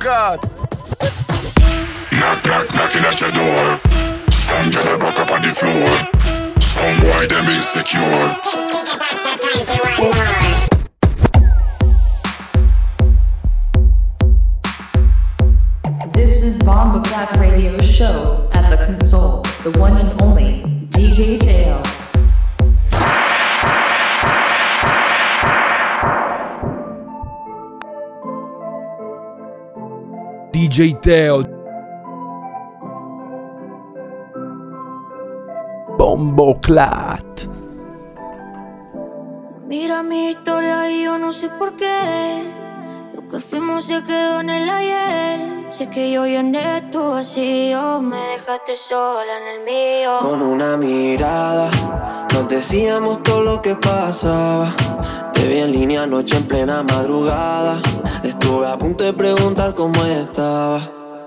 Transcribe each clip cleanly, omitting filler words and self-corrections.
God. Knock, knock, knocking at your door. Some girl a back up on the floor. Some boy them insecure. This is Bomba Clap Radio Show at the console, the one and only DJ Teo. DJ Teo. Bomboclat. Mira mi historia y yo no sé por qué. Lo que fuimos se quedó en el ayer. Sé que yo llené tu vacío. Me dejaste sola en el mío. Con una mirada nos decíamos todo lo que pasaba. Te vi en línea anoche en plena madrugada. Estuve a punto de preguntar cómo estaba.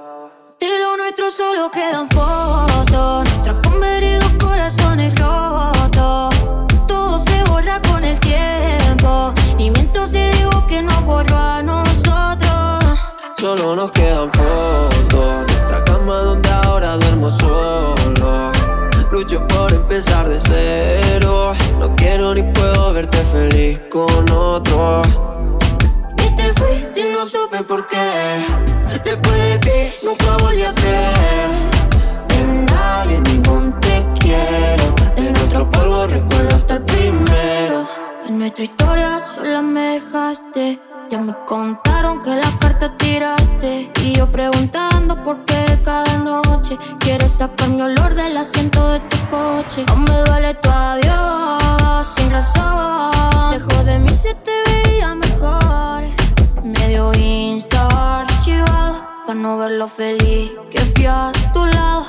De lo nuestro solo quedan fotos. Nuestros convenidos corazones rotos. Todo se borra con el tiempo. Y miento si digo que no borró a nosotros. Solo nos quedan fotos. Nuestra cama donde ahora duermo solo. Lucho por empezar de cero. No quiero ni puedo verte feliz con otro. Y te fuiste y no supe por qué. Después de ti nunca volví a creer en nadie, en ningún te quiero. En nuestro polvo recuerdo hasta el primero. En nuestra historia sola me dejaste. Ya me contaron que las cartas tiraste. Y yo preguntando por qué cada noche quieres sacar mi olor del asiento de tu coche. Aún me duele tu adiós sin razón. Lejos de mí se te veía mejor. Medio Insta archivado pa' no ver lo feliz que fui a tu lado.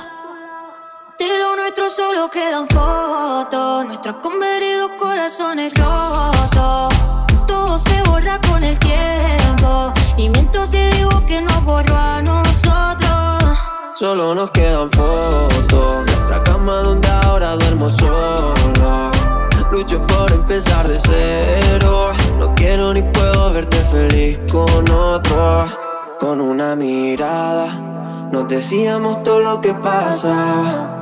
De lo nuestro solo quedan fotos. Nuestros convenidos corazones rotos. Todo se borra con el tiempo. Y miento si digo que no borró a nosotros. Solo nos quedan fotos. Nuestra cama donde ahora duermo solo. Lucho por empezar de cero. No quiero ni puedo verte feliz con otro. Con una mirada nos decíamos todo lo que pasaba.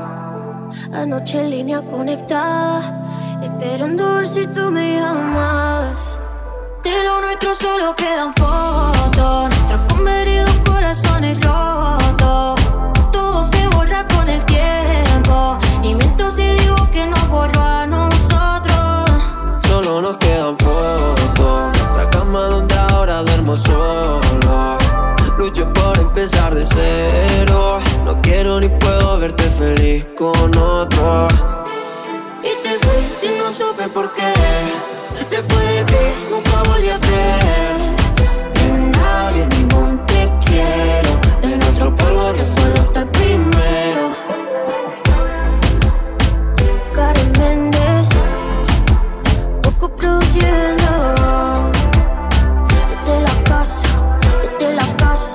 Anoche en línea conectada, esperando ver si tú me llamas. De lo nuestro solo quedan fotos. Nuestros convenidos corazones rotos. Todo se borra con el tiempo. Y miento si digo que no borró a nosotros. Solo nos quedan fotos. Nuestra cama donde ahora duermo solo. Lucho por empezar de cero. No quiero ni puedo verte feliz con otro. Y te fuiste y no supe por qué. Después de ti nunca volví a creer en nadie, ningún te quiero. En nuestro polvo recuerdo hasta el primero. Karen Méndez, poco produciendo. Desde la casa, desde la casa.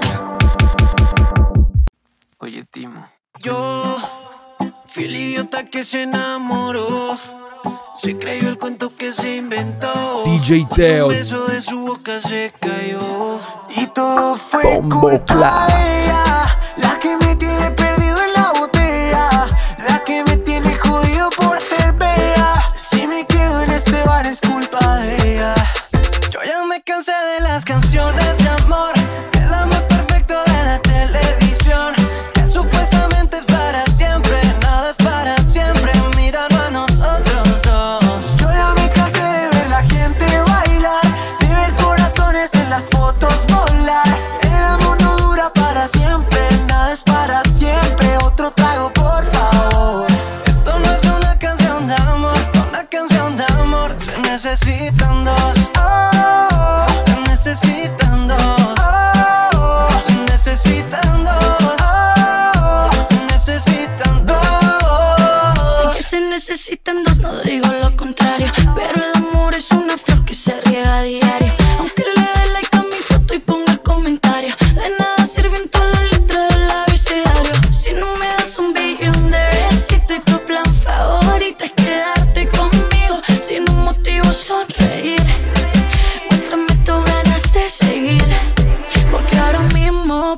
Oye, Timo. Yo fui el idiota que se enamoró. Se creyó el cuento que se inventó. DJ Teo. Un beso de su boca se cayó. Y todo fue Bomboclat. culpa de ella. La que me tiene perdido en la botella. La que me tiene jodido por ser bella. Si me quedo en este bar es culpa de ella. Yo ya me cansé de las canciones de amor. Del amor perfecto de la televisión. Que supuestamente es para siempre. Nada es para siempre. Míralo a nosotros dos. Yo ya me cansé de ver la gente bailar. De ver corazones en las fotos volar. El amor no dura para siempre. Nada es para siempre. Otro trago por favor. Esto no es una canción de amor. Una canción de amor. Se necesitan dos. Oh, se necesitan dos. Oh, se necesitan dos. Oh, se necesitan dos. Sé que se necesitan dos, no digo lo contrario. Pero el amor es una flor que se riega a diario. Aunque le dé like a mi foto y ponga comentario, de nada sirven todas las letras del abecedario. Si no me das un billón de besitos y tu plan favorito es quedarte conmigo sin un motivo sonreír. Muéstrame tus ganas de seguir, porque ahora mismo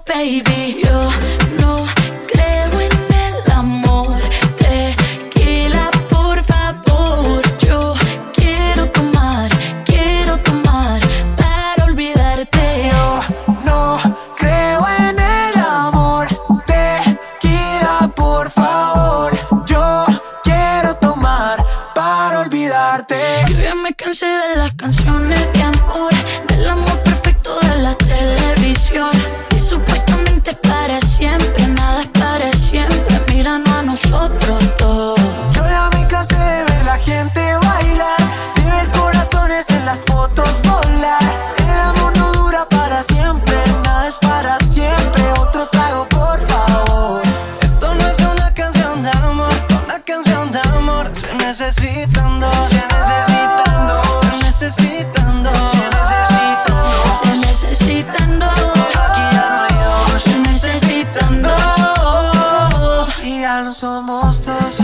cansé de las canciones de amor, del amor perfecto de la televisión. Y supuestamente es para siempre, nada es para siempre. Míranos a nosotros dos. Yo ya me cansé de ver la gente bailar, de ver corazones en las fotos volar. El amor no dura para siempre, nada es para siempre. Otro trago, por favor. Esto no es una canción de amor, una canción de amor. Se necesitan dos, se necesitan dos, se necesitan dos, se necesitan dos, se necesitan dos. Y ya no somos dos.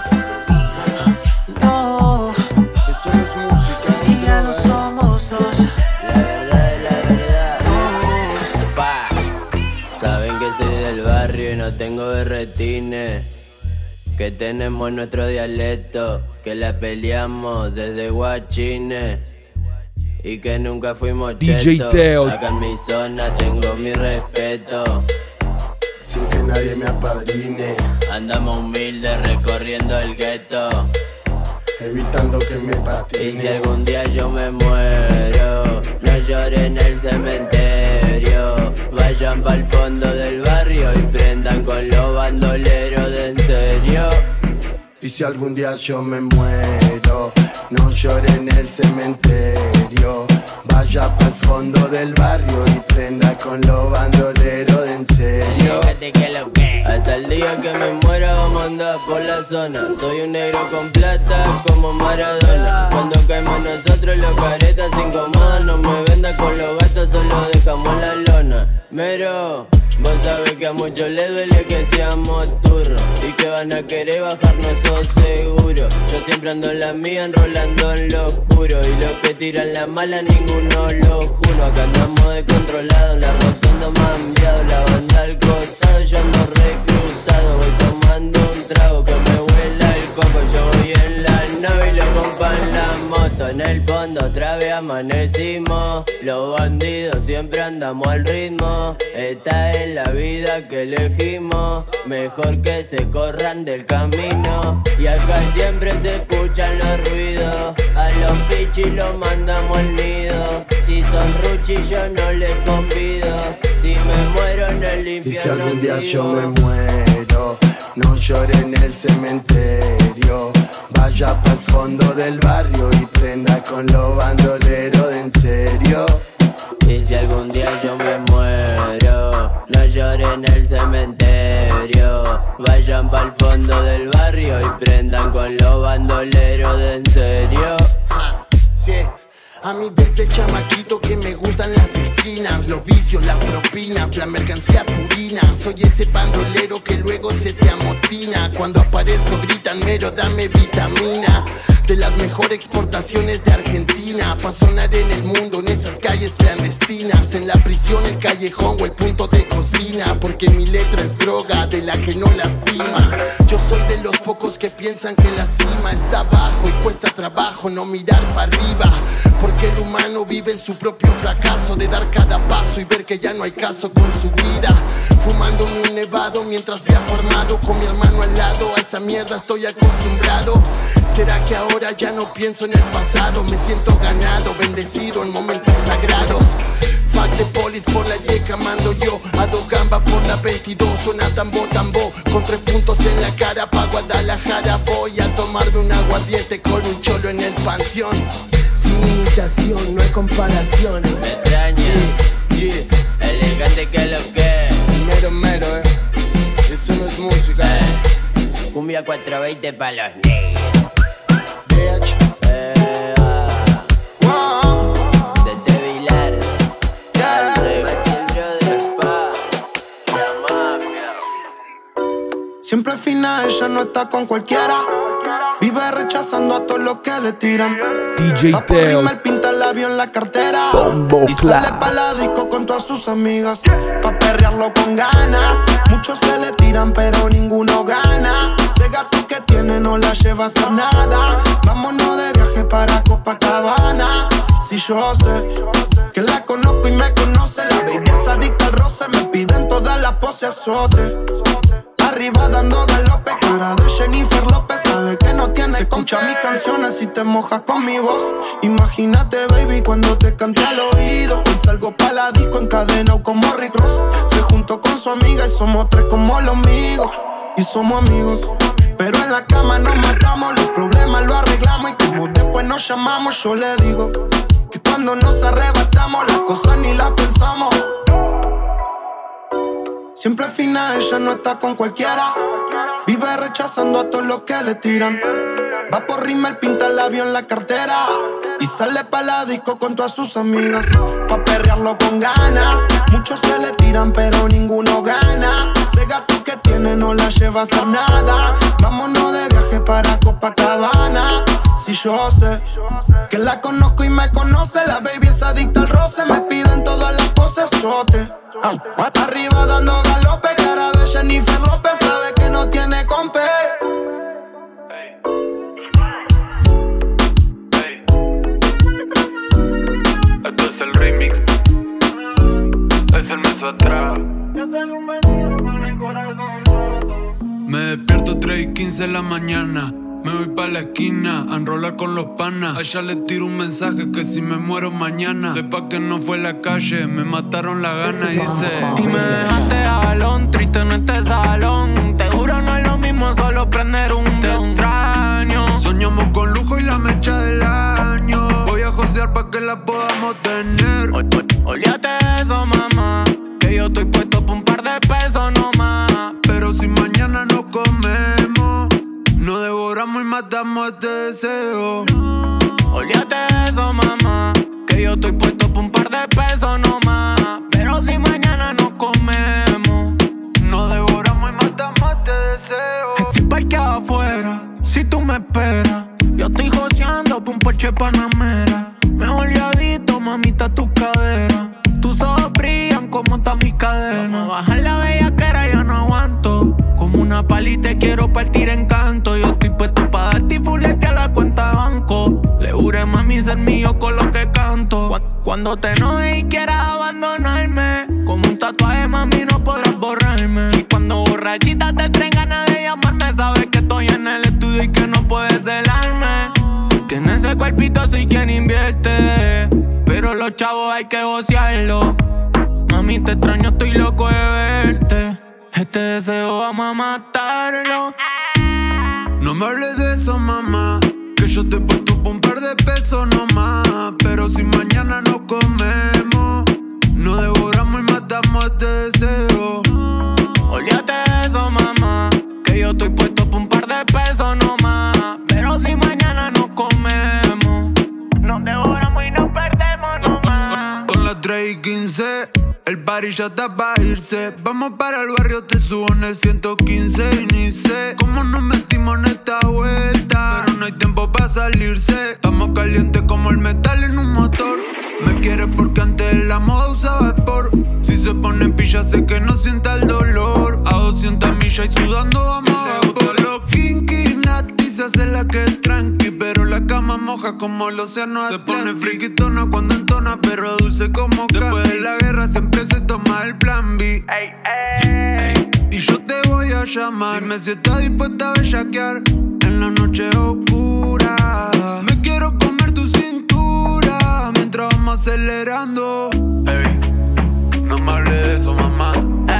No, esto no es música. y ya no somos dos. La verdad. Pa. Saben que soy del barrio y no tengo berretines. Que tenemos nuestro dialecto, que la peleamos desde guachines. Y que nunca fuimos DJ chetos. Teo. Acá en mi zona tengo mi respeto. Sin que nadie me apadrine, Andamos humildes recorriendo el gueto. evitando que me Y si patine. algún día yo me muero, no lloren en el cementerio. Vayan pa'l fondo del barrio y prendan con los bandoleros de en serio. Y si algún día yo me muero, no llore en el cementerio. Vaya pa'l fondo del barrio y prenda con los bandoleros de en serio. Hasta el día que me muera vamos a andar por la zona. Soy un negro con plata como Maradona. Cuando caemos nosotros los caretas se incomodan. No me vendas con los gatos, solo dejamos la lona. Mero, vos sabés que a muchos les duele que seamos turros y que van a querer bajarnos, eso seguro. Yo siempre ando en la mía, enrolando en lo oscuro. Y los que tiran la mala, ninguno lo juro. Acá andamos descontrolados, en la rotonda más enviado. La banda al costado, yo ando recruzado. Voy tomando un trago que me huela el coco. Yo voy en la nave y los compas en la moto. En el fondo otra vez amanecimos. Los bandidos siempre andamos al ritmo. Esta es la vida que elegimos. Mejor que se corran del camino. Y acá siempre se escuchan los ruidos. A los pichis los mandamos al nido. Si son ruchis yo no les convido. Si me muero en el Y si infierno algún día yo sigo. me muero, no llore en el cementerio. Vaya pa'l fondo del barrio y prenda con los bandoleros de en serio. Y si algún día yo me muero, no lloren en el cementerio. Vayan pa'l fondo del barrio y prendan con los bandoleros de en serio. Sí, a mí desde chamaquito que me gustan las esquinas, los vicios, las propinas, la mercancía purina. Soy ese bandolero que luego se te amotina. Cuando aparezco gritan mero, dame vitamina. De las mejores exportaciones de Argentina, pa' sonar en el mundo en esas calles clandestinas. En la prisión, el callejón o el punto de cocina. Porque mi letra es droga de la que no lastima. Yo soy de los pocos que piensan que la cima está abajo y cuesta trabajo no mirar para arriba. Porque el humano vive en su propio fracaso de dar cada paso y ver que ya no hay caso con su vida. Fumando un nevado mientras viajo armado con mi hermano al lado. A esa mierda estoy acostumbrado. ¿Será que ahora ya no pienso en el pasado? Me siento ganado, bendecido en momentos sagrados. Fuck de polis por la yeca mando yo. A dos gambas por la 22 suena tambo tambo. Con 3 puntos en la cara pa' Guadalajara voy a tomarme un aguardiente con un cholo en el panteón. Sin imitación, no hay comparación. Me extraña, Yeah, elegante que lo que. mero, eso no es música. Cumbia 420 pa' los negros. Bitch. Wow. De Bilardo, Yeah. el brother pa, la mafia. Siempre al final ella no está con cualquiera. Vive rechazando a todos los que le tiran. DJ Va por Teo. Rimmel, pinta el labio en la cartera. Bombo Y Clap. sale pa' la disco con todas sus amigas. Pa' perrearlo con ganas. Muchos se le tiran pero ninguno gana. Ese gato que tiene no la lleva a hacer nada. Vámonos de viaje para Copacabana. Si yo sé que la conozco y me conoce. La baby es adicta al roce. Me piden todas las poses azote. Arriba dando galope, cara de Jennifer López. Sabe que no no tiene. Se escucha mis canciones y te mojas con mi voz. Imagínate, baby, cuando te cante al oído. Hoy salgo pa' la disco encadenado como Rick Ross. Se juntó con su amiga y somos tres como los amigos. Y somos amigos, pero en la cama nos matamos. Los problemas los arreglamos y como después nos llamamos. Yo le digo que cuando nos arrebatamos las cosas ni las pensamos. Siempre fina, ella no está con cualquiera. Vive rechazando a todos los que le tiran. Va por Rimmel, pinta el labio en la cartera y sale pa' la disco con todas sus amigas. Pa' perrearlo con ganas. Muchos se le tiran pero ninguno gana. Ese gato que tiene no la lleva a hacer nada. Vámonos de viaje para Copacabana. Si yo sé que la conozco y me conoce. La baby es adicta al roce. Me piden todas las poses sote. Arriba dando galope. Cara de Jennifer López. Sabe que no tiene compe. Esto es el remix. Es el mes atrás. Me despierto 3:15 de la mañana. Me voy pa' la esquina a enrolar con los panas. A ella le tiro un mensaje que si me muero mañana sepa que no fue la calle, me mataron la gana. Y dice: y me dejaste jalón, triste en este salón. Te juro no es lo mismo solo prender un te extraño. Soñamos con lujo y la mecha del año. Voy a josear pa' que la podamos tener. Olvídate de eso, mamá, que yo estoy puesto por un par de pesos nomás. Pero si mañana no comemos, nos devoramos y matamos este deseo. Olvídate de eso, mamá, que yo estoy puesto por un par de pesos nomás. Pero si mañana no comemos, nos devoramos y matamos este deseo. Estoy parqueado afuera, si tú me esperas. Yo estoy joseando por un Porsche Panamera. Me olvidadito, mamita, tu cadera. Tus ojos brillan como está mi cadena. Vamos a bajar la bellaquera, ya no aguanto. Como una pali te quiero partir en canto. Yo estoy puesto pa' darte y fulete a la cuenta de banco. Le juré, mami, ser mío con lo que canto. Cuando te enojes y quieras abandonarme, como un tatuaje, mami, no podrás borrarme. Y cuando borrachita te traen ganas de llamarme, sabes que estoy en el estudio y que no puedes celarme. Que en ese cuerpito soy quien invierte, pero los chavos hay que gocearlo. Mami, te extraño, estoy loco de verte. Este deseo vamos a matarlo. No me hables de eso, mamá, que yo te he puesto por un par de pesos nomás. Pero si mañana no comemos, nos devoramos y matamos este deseo. Olvídate de eso, mamá, que yo estoy puesto por un par de pesos nomás. Pero si mañana no comemos, nos devoramos y nos perdemos nomás. Con las 3:15 el party ya está pa' irse. Vamos para el barrio, te subo en el 115. Y ni sé cómo nos metimos en esta vuelta, pero no hay tiempo pa' salirse. Estamos calientes como el metal en un motor. Me quieres porque antes la moda usaba vapor. Si se pone en pilla sé que no sienta el dolor. A 200 millas y sudando vamos a vapor. Los kinky nati se hace la que es tranqui, pero la cama moja como el océano Atlántico. Se pone friquitona cuando entona, pero dulce como Candy. Después de la guerra siempre se toma el plan B. Ey, ey. Y yo te voy a llamar, dime si estás dispuesta a bellaquear en la noche oscura. Me quiero comer tu cintura mientras vamos acelerando. Ey, no me hables de eso, mamá.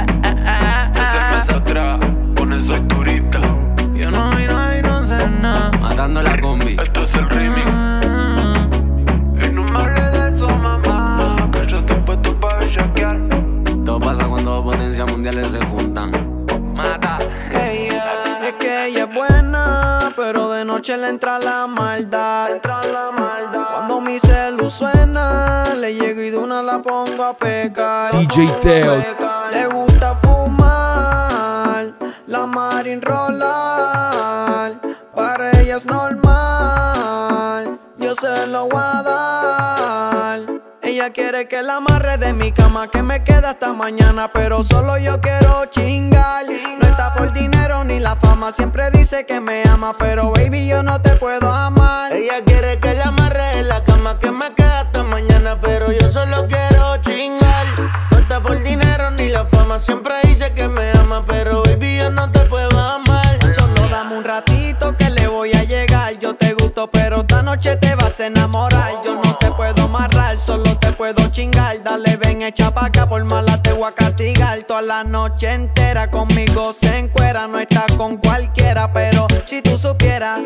Es el mes atrás, con eso es turista. Yo no vi nada y no sé nada. Matando la combi. Esto es el remix. Y no me hables de eso, mamá, que yo estoy puesto pa' bellaquear. Todo pasa cuando dos potencias mundiales se juntan. Mata. Es que ella es buena, pero de noche le entra la maldad. Cuando mi celu suena, le llego y de una la pongo a pecar. DJ Teo. Le gusta fumar, la Marin rolar. Para ella es normal, yo se lo voy a dar. Ella quiere que la amarre de mi cama, que me quede hasta mañana, pero solo yo quiero chingar. No está por dinero ni la fama, siempre dice que me ama, pero baby yo no te puedo amar. Ella quiere que la amarre en la cama, que me quede hasta mañana, pero yo solo quiero chingar. No está por dinero ni la fama, siempre dice que me ama, pero baby yo no te puedo amar. Solo dame un ratito que le voy a llegar. enamorar. Yo no te puedo amarrar, solo te puedo chingar. Dale, ven, echa pa' acá, por mala te voy a castigar. Toda la noche entera conmigo se encuera. No estás con cualquiera, pero si tú supieras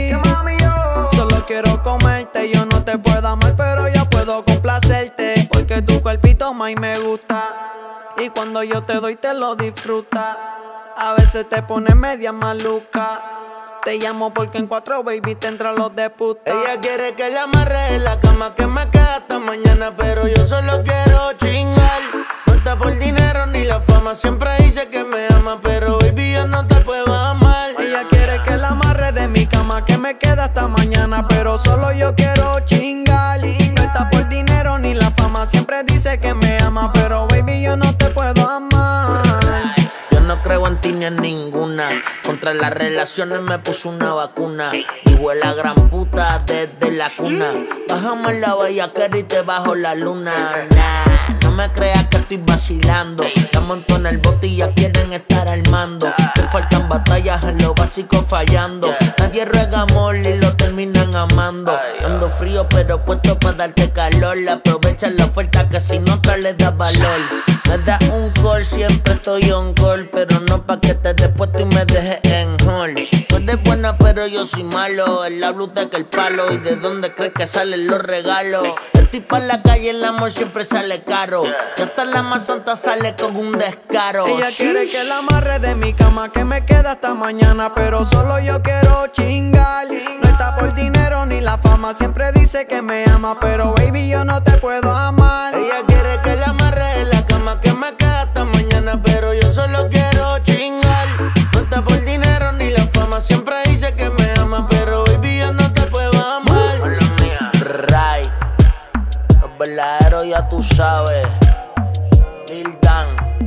solo quiero comerte. Yo no te puedo amar, pero ya puedo complacerte. Porque tu cuerpito más me gusta, y cuando yo te doy te lo disfrutas. A veces te pones media maluca. Te llamo porque en 4, baby, te entran los de puta. Ella quiere que la amarre en la cama, que me quede hasta mañana, pero yo solo quiero chingar. No está por dinero ni la fama, siempre dice que me ama, pero baby, yo no te puedo amar. Ella quiere que la amarre de mi cama, que me quede hasta mañana, pero solo yo quiero chingar. No está por dinero ni la fama, siempre dice que me ama, pero baby, yo no te puedo amar. No creo en ti ni en ninguna. Contra las relaciones me puso una vacuna. Hijo de la gran puta desde la cuna. Bájame la bellaquera y te bajo la luna. Nah, no me creas que estoy vacilando. La monto en el bote y ya quieren estar al mando. Te faltan batallas en lo básico fallando. Nadie ruega amor y lo terminan amando. Ando frío pero puesto para darte calor. Aprovecha la oferta que si no te le das valor. Me das un call, siempre estoy on call, pero no pa' que te des puesto y me dejes en hall. Tú eres buena pero yo soy malo. El la bluta que el palo. ¿Y de dónde crees que salen los regalos? Estoy pa' la calle, el amor siempre sale caro. Y hasta la más santa sale con un descaro. Ella quiere que la amarre de mi cama, que me quede hasta mañana, pero solo yo quiero chingar. No está por dinero ni la fama, siempre dice que me ama, pero baby, yo no te puedo amar. Ella quiere que la amarre en la cama, que me quede hasta mañana, pero yo solo quiero chingar. No está por dinero ni la fama, siempre dice que me ama, pero baby, yo no te puedo amar. Ray, los verdaderos ya tú sabes. Lil Dan,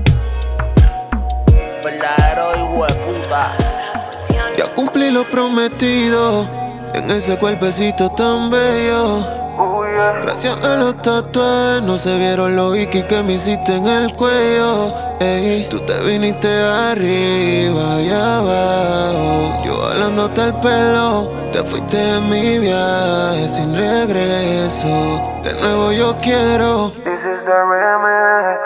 verdadero hijo de puta. Ya cumplí lo prometido en ese cuerpecito tan bello. Gracias a los tatuajes no se vieron los ikis que me hiciste en el cuello. Ey, tú te viniste arriba y abajo, yo jalándote el pelo. Te fuiste de mi viaje sin regreso. De nuevo yo quiero. This is the remix.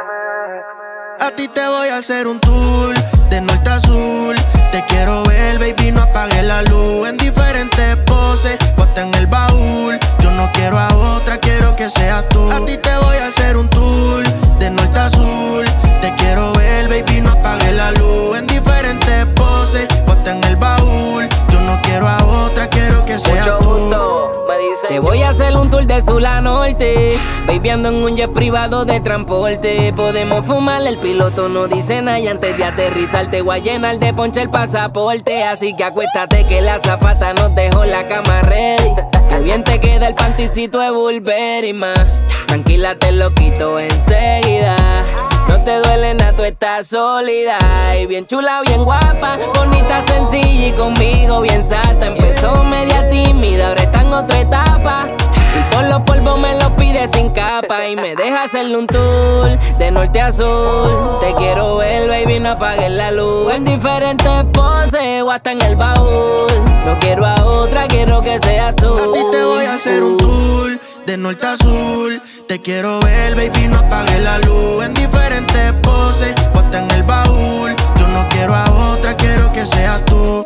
A ti te voy a hacer un tour de norte a sur. Te quiero ver, baby, no apagues la luz. En diferentes poses, ponte en el baúl. Yo no quiero a otra, quiero que seas tú. A ti te voy a hacer un tour de norte a sur. Te quiero ver, baby, no apagues la luz. En diferentes poses, ponte en el baúl. Yo no quiero a otra, quiero que seas tú. Te voy a hacer un tour de sur a norte. Baby, ando en un jet privado de transporte. Podemos fumar, el piloto no dice nada. Y antes de aterrizar te voy a llenar de ponche el pasaporte. Así que acuéstate que la azafata nos dejó la cama ready. Que bien te queda el panticito de Burberry, ma. Tranquila, te lo quito enseguida. No te duele nada, tú estás sólida. Y bien chula, bien guapa, bonita, sencilla y conmigo bien sata. Empezó media tímida, ahora está en otra etapa. Y todos los polvos me los pide sin capa. Y me deja hacerle un tour de norte a sur. Te quiero ver, baby, no apagues la luz. En diferentes poses o hasta en el baúl. No quiero a otra, quiero que seas tú. A ti te voy a hacer un tour de norte a sur. Te quiero ver, baby, no apagues la luz. En diferentes poses, ponte en el baúl. Yo no quiero a otra, quiero que seas tú.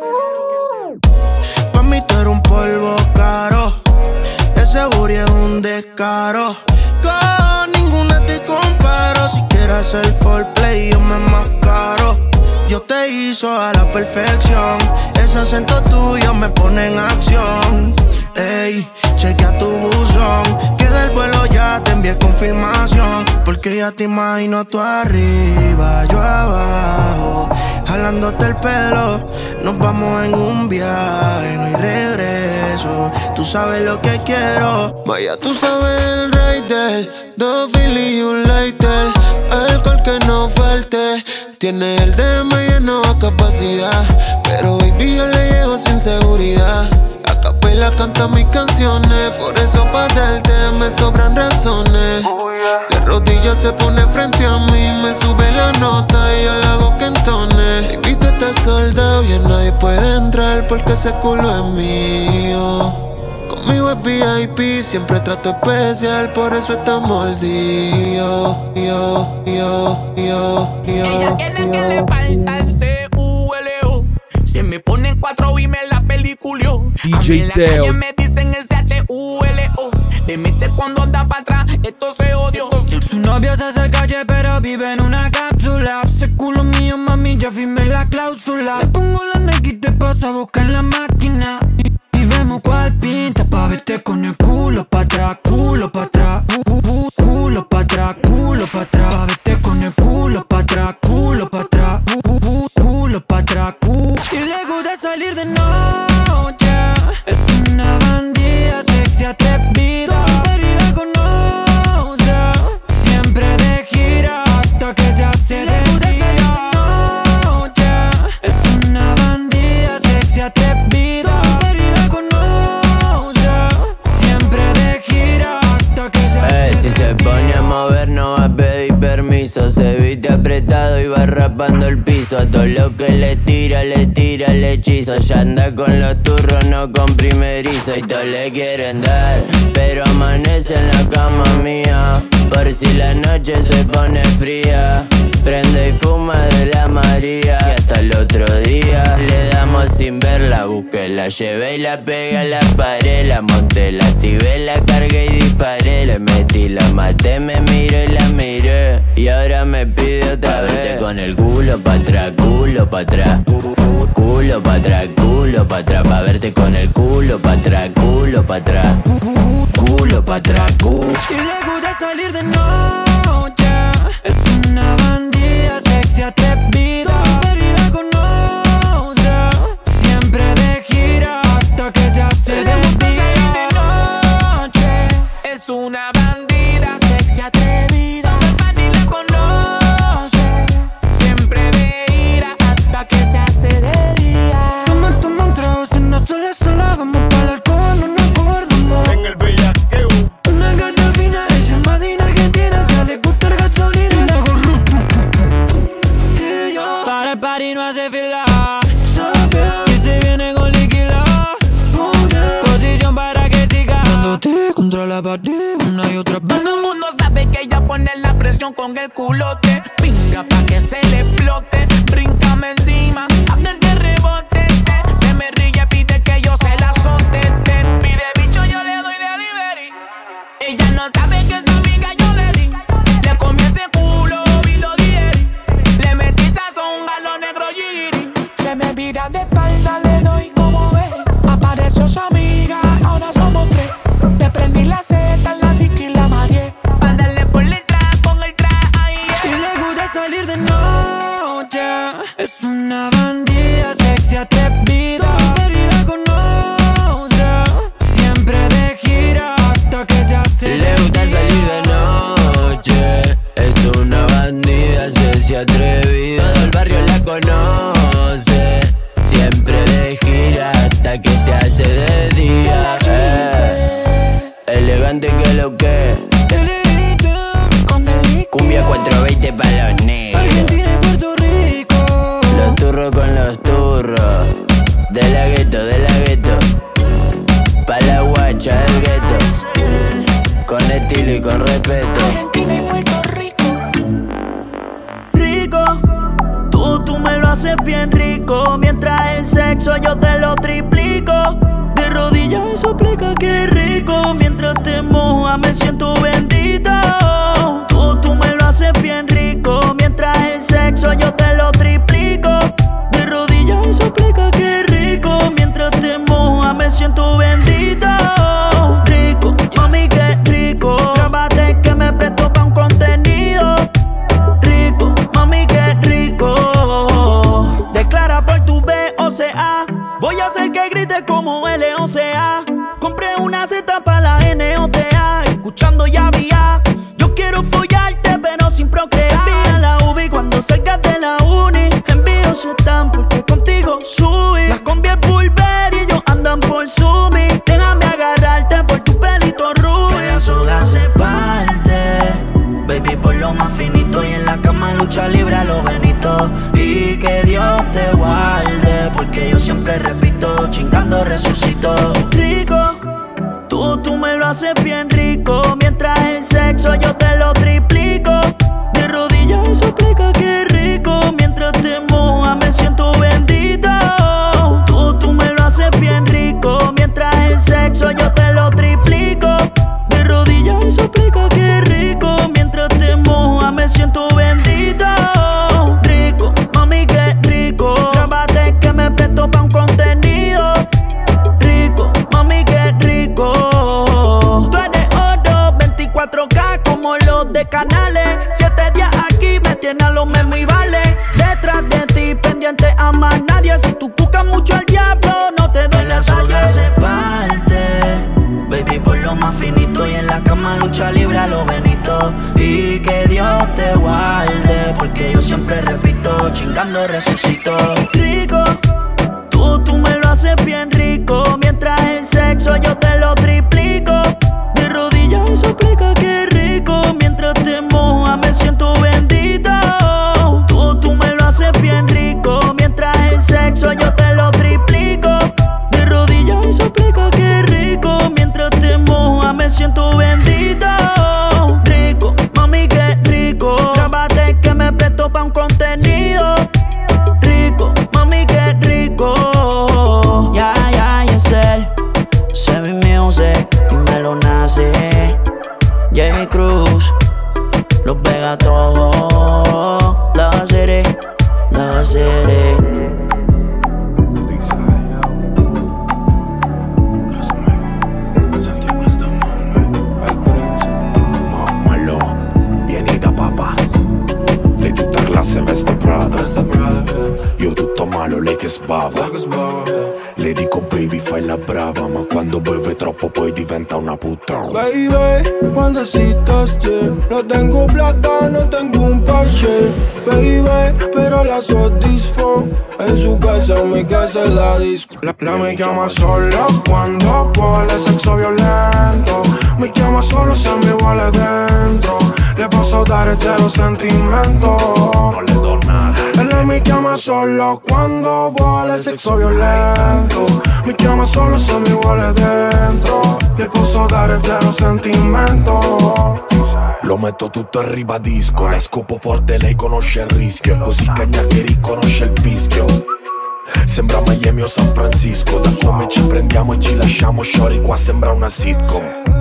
Pa' mí tú eres un polvo caro. Ese booty es un descaro. Con ninguna te comparo. Si quieres hacer foreplay, yo me mascaro. Yo te hizo a la perfección. Ese acento tuyo me pone en acción. Ey, chequea tu buzón, que del vuelo ya te envié confirmación. Porque ya te imagino tú arriba, yo abajo, jalándote el pelo. Nos vamos en un viaje, no hay regreso. Tú sabes lo que quiero. Vaya, tú sabes el rider, dos Philly y un lighter. Alcohol que no falte. Tiene el DM lleno a capacidad, pero baby yo le llego sin seguridad. A capela canta mis canciones, por eso para darte me sobran razones. De rodillas se pone frente a mí, me sube la nota y yo la hago que entone. Baby, tú estás soldado y nadie puede entrar porque ese culo es mío. Conmigo es VIP, siempre trato especial, por eso está mordido. Ella quiere que le falta el C-U-L-O. Si me ponen 4 y me la peliculio. DJ en la Teo. calle me dicen el C-H-U-L-O. Le mete cuando anda para atrás, esto se odio. Su novio se hace el calle pero vive en una cápsula. Ese culo mío, mami, ya firmé la cláusula. Le pongo la Nike y te paso a buscar la máquina. Y vemos cuál pinta pa' verte con el culo pa' atrás, culo pa' atrás. Culo pa' atrás, culo pa' atrás. Pa' verte con el culo pa' atrás, culo pa' atrás. Culo pa' atrás, Y le gusta salir de noche. Es una bandida sexy atrevida. Y la conoce. Siempre de gira hasta que se hace de día. Noche. Es una bandida sexy atrevida. Y la conoce. Siempre de gira hasta que se hace Si se pone a mover no va a pedir permiso. Se viste apretado y va rapando el piso. A todo lo que le tira el hechizo. Ya anda con los turros, no con primerizo. Y todos le quieren dar, pero amanece en la cama mía. Por si la noche se pone fría, prende y fuma de la María. Y hasta el otro día le damos sin verla. Busqué, la llevé y la pegué a la pared. La monté, la activé, la cargué y disparé. Le metí, la maté, me miré y la miré. Y ahora me pide otra vez. Con el culo pa' atrás, culo pa' atrás. Culo pa' atrás, culo pa' atrás. Pa' verte con el culo pa' atrás, culo pa' atrás. Culo pa' atrás, Y le gusta salir de noche. Es una bandida sexy atrevida. Y la conoce. Siempre de gira hasta que se hace de día. Es una bandida sexy atrevida. Nadie la conoce. Siempre de ira hasta que se hace de día. Toma un trago, si no sola, vamos para el alcohol, no nos acordamos. En el bellaqueo. Una gata fina, ella es madina argentina, que le gusta el gasolina. Y yo, para el party no hace fila. Sabe que se viene con líquida. Posición para que siga dándote contra la pared una y otra vez. Todo el mundo sabe que ella pone la presión con el culote. Pinga pa' que se le explote. Bríncame encima, hasta que rebote. Se me ríe, pide que yo se la azote. Pide bicho, yo le doy delivery. Ella no sabe que esta amiga yo le di. Le comí ese culo y lo digerí. Le metí sazón a lo negro giri. Se me vira de espalda, le doy como ve. Apareció su amiga, ahora somos 3. Le prendí la seta, la dicky y la mareé. Pa' darle por detrás con el traje, ahí Y le gusta salir de noche. Es una bandida sexy atrevida. Y la conoce. Siempre de gira hasta que se hace le gusta salir de noche. Es una bandida sexy atrevida. Todo el barrio la conoce. Siempre de gira hasta que se hace de día. Elegante que lo que. Cumbia 420 pa' los negros. Argentina y Puerto Rico. Los turros con los turros. De la gueto, pa' la guacha del gueto. Con estilo y con respeto. Argentina y Puerto Rico. Rico, tú me lo haces bien rico. Mientras el sexo yo te lo triplico. De rodillas eso explica que rico. Mientras te moja me siento bendito. Tú me lo haces bien rico. Mientras el sexo yo te lo triplico. De rodillas eso explica que rico. Mientras te moja me siento bendito. Rico, mami qué rico. Grábate que me presto pa' un contenido. Rico, mami qué rico. Declara por tu BOCA. Voy a hacer que grites como LOCA. Compré una Z para la NOTA. Escuchando ya vía. Yo quiero follarte pero sin procrear. Envía la UBI cuando salgas de la uni. Envío si están porque contigo subí. Las combi es Burberry y ellos andan por Sumi. Déjame agarrarte por tu pelito rubio. Que la soga se parte. Baby, por lo más finito. Y en la cama lucha libre a lo Benito. Y que Dios te guarde. Porque yo siempre repito, chingando resucito. Rico, lo haces bien rico. Mientras el sexo yo te lo triplico. De rodillas eso explica que rico. Mientras te mojas me siento bendito. Tú me lo haces bien rico. Mientras el sexo yo te lo triplico. De rodillas eso explica que rico. Mientras te mojas me siento bendito. Rico, mami qué rico. Grábate que me presto pa' un contenido. Rico, mami qué rico. Tú eres oro, 24K como los de Canales. 7 días aquí me tiene a lo mismo y vale. Detrás de ti, pendiente a más nadie. Si tú buscas mucho al diablo, no te doy la talla. Se parte, baby, por lo más finito. Y en la cama lucha libre a lo Benito. Y que Dios te guarde, porque yo siempre repito, chingando resucito. Rico, tú me lo haces bien rico. Mientras el sexo yo te lo triplico. De rodillas eso explica que rico. Mientras te mojas me siento bendito. Tú me lo haces bien rico. Mientras el sexo yo te lo triplico. De rodillas eso explica que rico. Mientras te mojas me siento bendito. Rico, mami qué rico. Grábate que me presto pa' un contenido. Rico, mami qué rico. Es él, Sevi Music y me lo nace. J. Cruz, Los Vega todo. La City, La City. Lei tutta classe veste Prada. Io tutto malo, lei che sbava. Le dico baby fai la brava, ma quando beve troppo poi diventa una puttana. Baby, cuando excitaste, no tengo plata, no tengo un parche. Baby, pero la satisfo. En su casa, en mi casa es la disco. La me llama solo cuando vuole sexo violento. Mi chiama solo se mi vuole dentro. Le posso dare zero sentimento. Non le do nada. E lei mi chiama solo quando vuole sexo violento. Mi chiama solo se mi vuole dentro. Le posso dare zero sentimento. Lo metto tutto e ribadisco. La scopo forte, lei conosce il rischio. È così cagna che riconosce il fischio. Sembra Miami o San Francisco. Da come ci prendiamo e ci lasciamo, shorty, qua sembra una sitcom.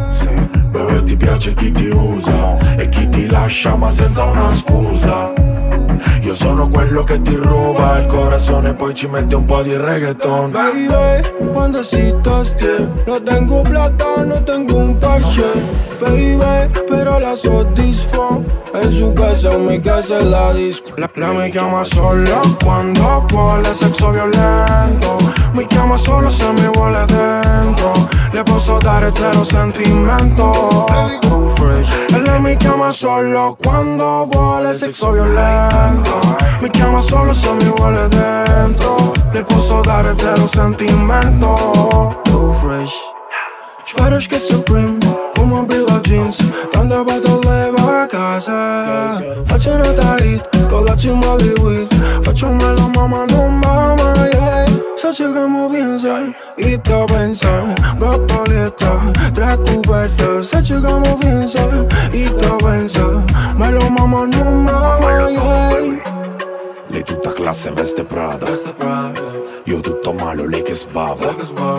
Beh, ti piace chi ti usa e chi ti lascia ma senza una scusa. Io sono quello che ti ruba il corazón e poi ci mette un po' di reggaeton. Baby, cuando excitaste, no tengo plata, no tengo un parche. Baby, pero la satisfo. En su casa, en mi casa es la disco. La me chiama solo quando vuole sexo violento. Mi chiama solo se mi vuole dentro. Le posso dare zero sentimento. E lei mi chiama solo quando vuole sexo violento. Mi chiama solo se mi vuole dentro. Le posso dare zero sentimento. Too fresh. Ćvaraš che Supreme, come Billie Jeans. Tanta battle leva a casa. Faccio una tight, con la cima di weed. Facciamelo mamma, non mamma, yeah. Sace como piensa y te pensa. Dos paletas, 3 cubertas. Sace como piensa y te pensa. Me lo mamma, non mamma, yeah. Lei tutta classe veste Prada. Io tutto malo, lei che sbava.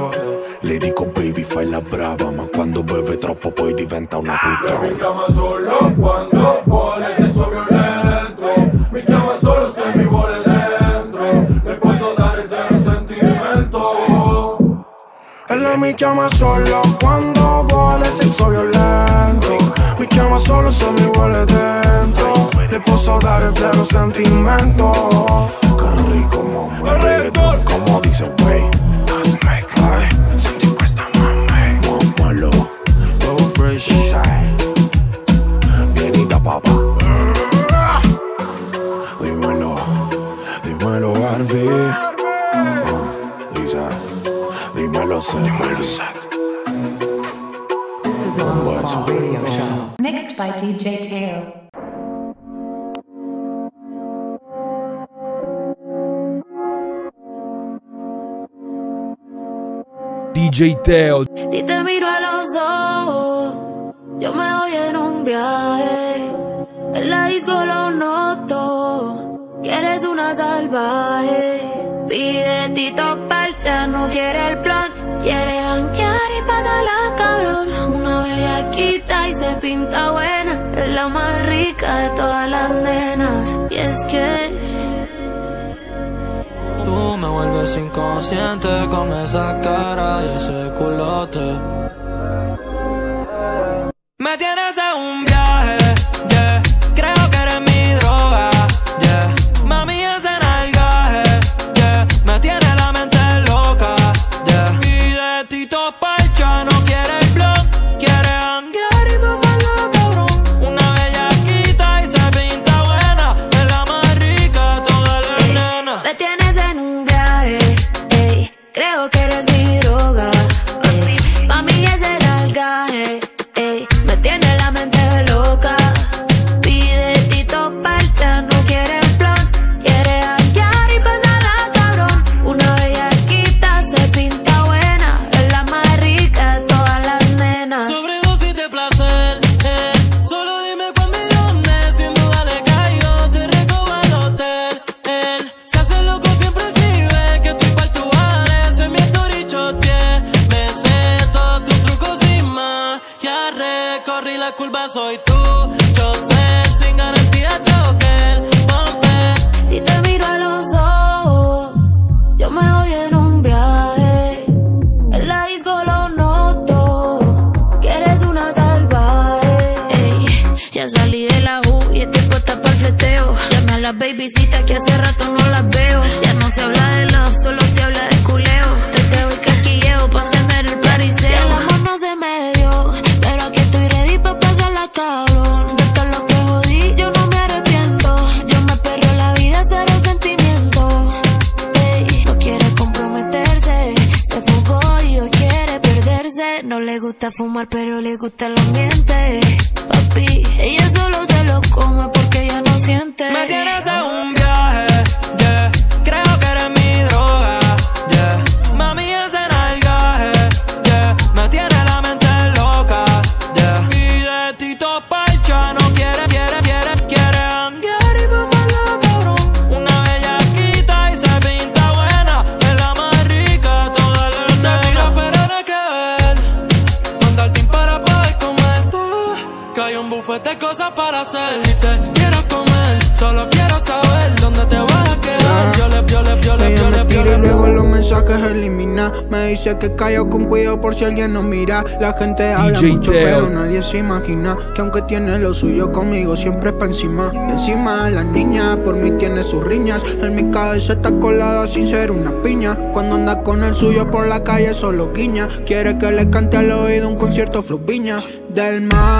Le dico baby fai la brava, ma quando beve troppo poi diventa una puttana. Mi chiama solo quando vuole sexo violento. Mi chiama solo se mi vuole dentro. Le posso dare zero sentimento. E lei mi chiama solo quando vuole sexo violento. Mi chiama solo se mi vuole dentro. Le posso dare zero sentimento. Che rico mamma, reggaeton como dice wey. Ay, senti questa mamma, mammalo. Go fresh, vieni da papà. Dímelo Barbie. Dímelo Seth. This is the On-Call Radio Show. Mixed by DJ Teo. DJ Teo. Si te miro a los ojos, yo me voy en un viaje. En la disco lo noto, que eres una salvaje. Pide Tito Parcha, no quiere el plan, quiere janguear y pasarla cabrón. Una bellaquita y se pinta buena, es la más rica de todas las nenas. Y es que tú me vuelves inconsciente con esa cara y ese culote. Me tienes en un viaje, yeah. Creo que eres mi droga, yeah. Mami, ese nalgaje, yeah. Me tiene la mente loca, yeah. Pide Tito Parcha, no quiere el blog, quiere janguear y pasarla cabrón. Una bellaquita y se pinta buena, es la más rica de todas las nenas. me tienes en un viaje, ey. Creo que eres mi droga, ey. Mami, ese nalgaje, ey. Me tiene la mente loca. Pide Tito Parcha, no quiere el plan, quiere janguear y pasarla cabrón. Una bellaquita se pinta buena, es la más rica de todas las nenas. Sobredosis de placer, solo dime cuándo y dónde. Sin duda le caigo, te recojo al hotel. Se hace loco siempre si ve que estoy pa' tu área. En mi story choteé, me sé todos tus trucos sin más. Ya recorrí la curva, soy tú, chofer sin garantía, choker, bombe. Si te miro a los ojos, yo me voy en un viaje. En la disco lo noto, que eres una salvaje. Ey, ya salí de la U y estoy puesta para el fleteo. Llamé a las babycitas que hace rato no las veo. Ya no se habla de love, solo se habla de culeo. Teteo y caquilleo pa' encender el pariseo. Y el amor no se me dio, pero aquí estoy ready pa' pasarla cabrón. De todo lo que jodí yo no me arrepiento. Yo me perreo la vida, cero sentimiento. Ey, no quiere comprometerse, se fugó y hoy quiere perderse. No le gusta fumar pero le gusta el ambiente. Papi, ella solo se lo come porque ella no siente. Me tienes en un viaje, yeah. Creo que eres mi droga, yeah. Mami, ese nalgaje, yeah. Me tiene la mente loca, yeah. Pide Tito Parcha, no quiere janguear y pasarla cabrón. Una bellaquita y se pinta buena, es la más rica de todas las nenas. Te tiro pero nada que ver, manda el team para poder comerte. Que hay un buffet de cosas para hacer y te quiero comer. Solo quiero saber dónde te vas a quedar. Ella me tira y luego los mensajes elimina. Me dice que callo con cuidado por si alguien nos mira. La gente habla DJ mucho Teo. pero nadie se imagina que aunque tiene lo suyo conmigo siempre es pa' encima. Y encima de la niña por mí tiene sus riñas. En mi cabeza está colada sin ser una piña. Cuando anda con el suyo por la calle solo guiña. Quiere que le cante al oído un concierto Flow Viña. Del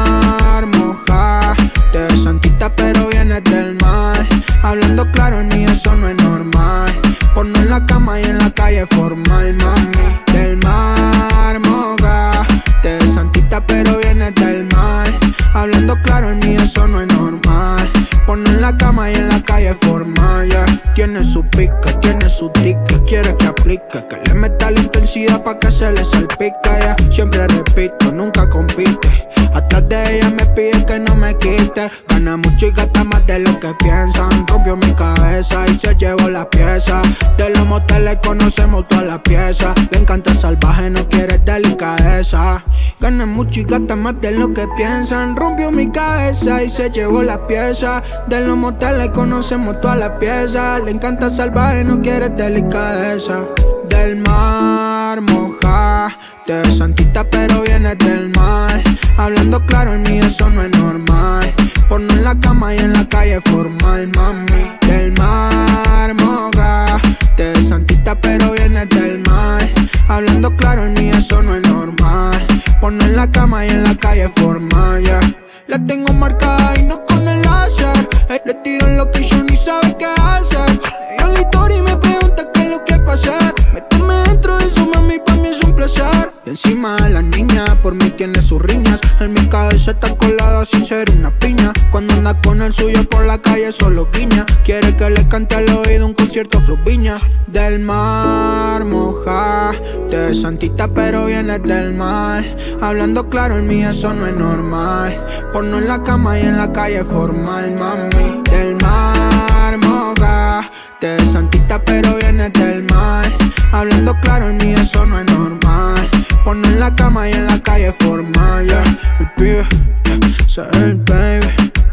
mar moja, te ves santita pero vienes del mar. Hablando claro en mí eso no es normal. Ponno en la cama y en la calle formal, mami. Del mar moja, te ves santita pero vienes del mar. Hablando claro en mí eso no es normal. Ponno en la cama y en la calle formal, yeah. Tiene su pica, tiene su tica, quiere que aplique, que le meta la intensidad pa' que se le salpica, yeah. Siempre repito, nunca compite. Atrás de ella me pide que no me quite. Gana mucho y gasta más de lo que piensan. Rompió mi cabeza y se llevó la pieza. De los moteles conocemos todas las piezas. Le encanta salvaje, no quiere delicadeza. Gana mucho y gasta más de lo que piensan. Rompió mi cabeza y se llevó la pieza. De los moteles conocemos todas las piezas. Le encanta salvaje, no quiere delicadeza. Del mar moja, te ves santita pero vienes del mar. Hablando claro en mí eso no es normal. Ponno en la cama y en la calle formal, mami. Del mar moja, te ves santita pero vienes del mar. Hablando claro en mí eso no es normal. Ponno en la cama y en la calle formal, yeah. La tengo marcada y no con el láser. Le tiro en location y sabe qué hacer. Yo la historia y me pregunta qué es lo que pasa. Meterme dentro de eso, mami, pa' mí es un placer. Y encima de la niña, por mí tiene sus riñas. En mi cabeza está colada sin ser una piña. Cuando anda con el suyo por la calle solo guiña. Quiere que le cante al oído un concierto Flow Viña. Del mar moja, te Te santita pero vienes del mal. Hablando claro, en mí eso no es normal. Porno en la cama y en la calle formal, mami. Del mar, moga. Te santita pero vienes del mal. Hablando claro, en mí eso no es normal. Porno en la cama y en la calle formal, yeah. El pibe, ese es el baby.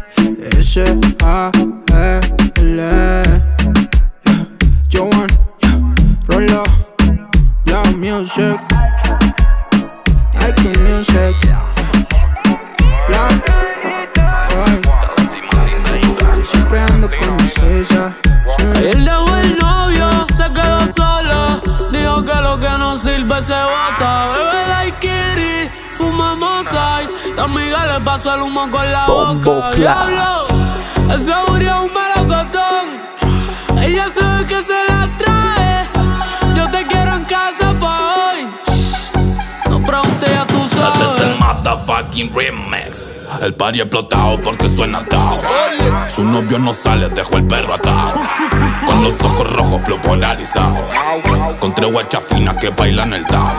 S-A-L, Joan, Rolo, Black Music, Icon Music, Black, yo siempre ando con mi sisa. Él dejó el novio, se quedó solo. Dijo que lo que no sirve se bota. Bebe daiquiri, fuma mota y la amiga le pasó el humo con la boca. Diablo, ese murió un melocotón. Ella sabe que se la trae. Yo te quiero en casa pa' hoy. No pregunte, ya tú sabes. Este es el motherfucking remix. El party explotado porque suena atado. Su novio no sale, dejó el perro atado. Con los ojos rojos, flow polarizado. Con tres guachas finas que bailan el tao.